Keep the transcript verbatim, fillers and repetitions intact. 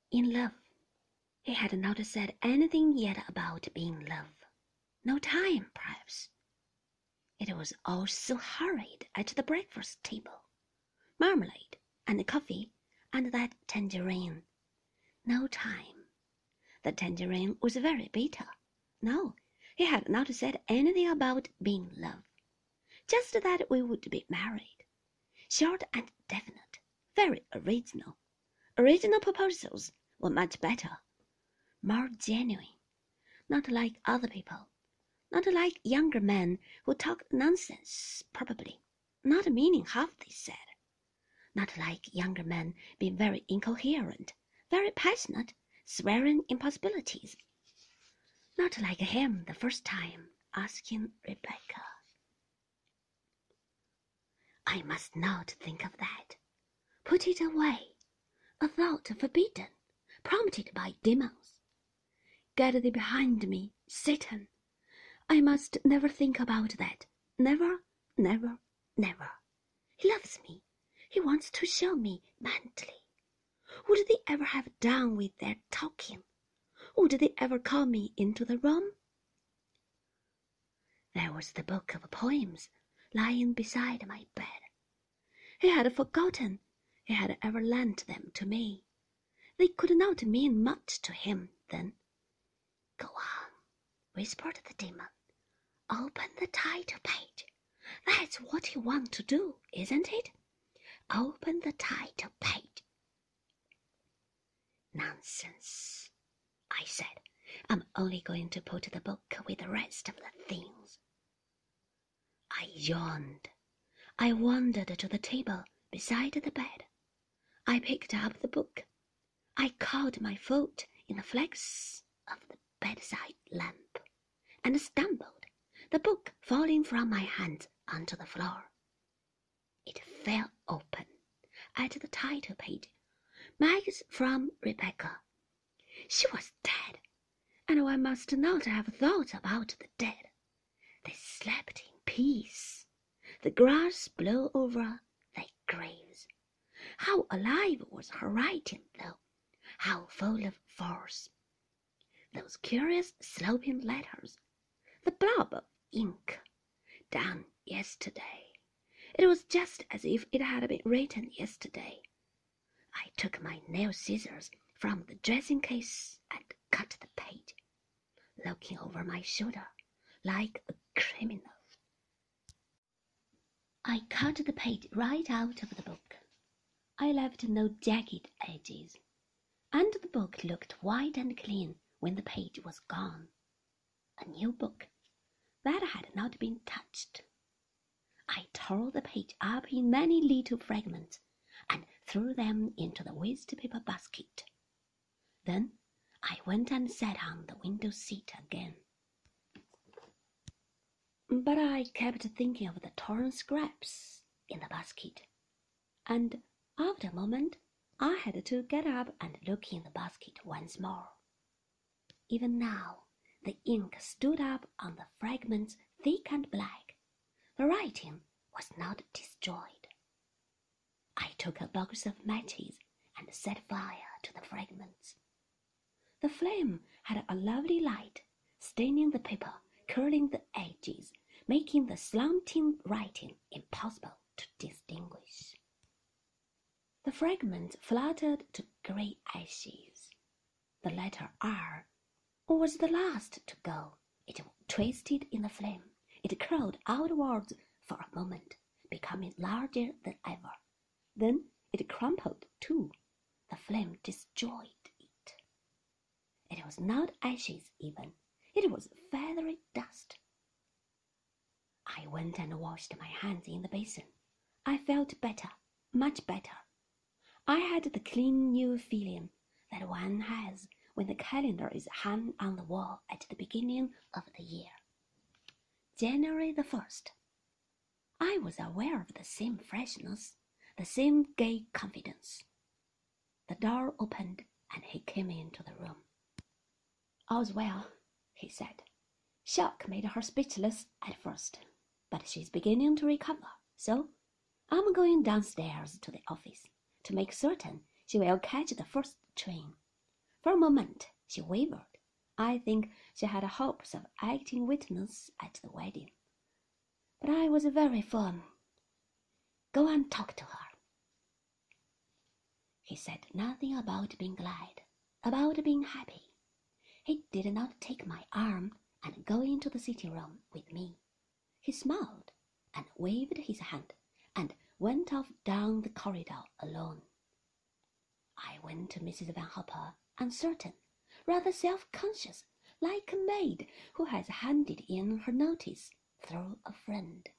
In love. He had not said anything yet about being in love. No time, perhaps. It was all so hurried at the breakfast table. Marmalade and coffee and that tangerine. No time. The tangerine was very bitter. No, he had not said anything about being in love. Just that we would be married. Short and definite. Very original. Original proposals were much better. More genuine. Not like other people. Not like younger men who talked nonsense, probably. Not meaning half they said. Not like younger men being very incoherent, very passionate, swearing impossibilities. Not like him the first time asking Rebecca. I must not think of that. Put it away. A thought forbidden, prompted by demons. Get thee behind me, Satan. I must never think about that. Never, never, never. He loves me. He wants to show me mentally. Would they ever have done with their talking? Would they ever call me into the room? There was the book of poems lying beside my bed. He had forgotten he had ever lent them to me. They could not mean much to him then. Go on, whispered the demon. Open the title page. That's what you want to do, isn't it? Open the title page. Nonsense, I said. I'm only going to put the book with the rest of the things. I yawned. I wandered to the table beside the bed. I picked up the book. I caught my foot in the flex of the bedside lamp and stumbled, the book falling from my hands onto the floor. It fell open at the title page. Mags from Rebecca. She was dead, and one must not have thought about the dead. They slept in peace. The grass blew over their graves. How alive was her writing, though! How full of force! Those curious sloping letters, the blob of ink, done yesterday. It was just as if it had been written yesterday. I took my nail scissors from the dressing case and cut the page, looking over my shoulder like a criminal. I cut the page right out of the book. I left no jagged edges, and the book looked white and clean when the page was gone. A new book that had not been touched. I tore the page up in many little fragments and threw them into the waste paper basket. Then I went and sat on the window seat again. But I kept thinking of the torn scraps in the basket, and after a moment I had to get up and look in the basket once more. Even now the ink stood up on the fragments thick and black. The writing was not destroyed. I took a box of matches and set fire to the fragments. The flame had a lovely light, staining the paper, curling the edges, making the slanting writing impossible to distinguish. The fragments fluttered to grey ashes. The letter R was the last to go. It twisted in the flame. It curled outwards for a moment, becoming larger than ever. Then it crumpled too. The flame destroyed it. It was not ashes even. It was feathery dust. I went and washed my hands in the basin. I felt better, much better. I had the clean new feeling that one has when the calendar is hung on the wall at the beginning of the year. January the first. I was aware of the same freshness, the same gay confidence. The door opened and he came into the room. All's well, he said. Shock made her speechless at first, but she's beginning to recover, so I'm going downstairs to the office to make certain she will catch the first train. For a moment she wavered. I think she had hopes of acting witness at the wedding. But I was very firm. Go and talk to her. He said nothing about being glad, about being happy. He did not take my arm and go into the sitting room with me. He smiled and waved his hand and went off down the corridor alone. I went to Missus Van Hopper, uncertain, rather self-conscious, like a maid who has handed in her notice through a friend.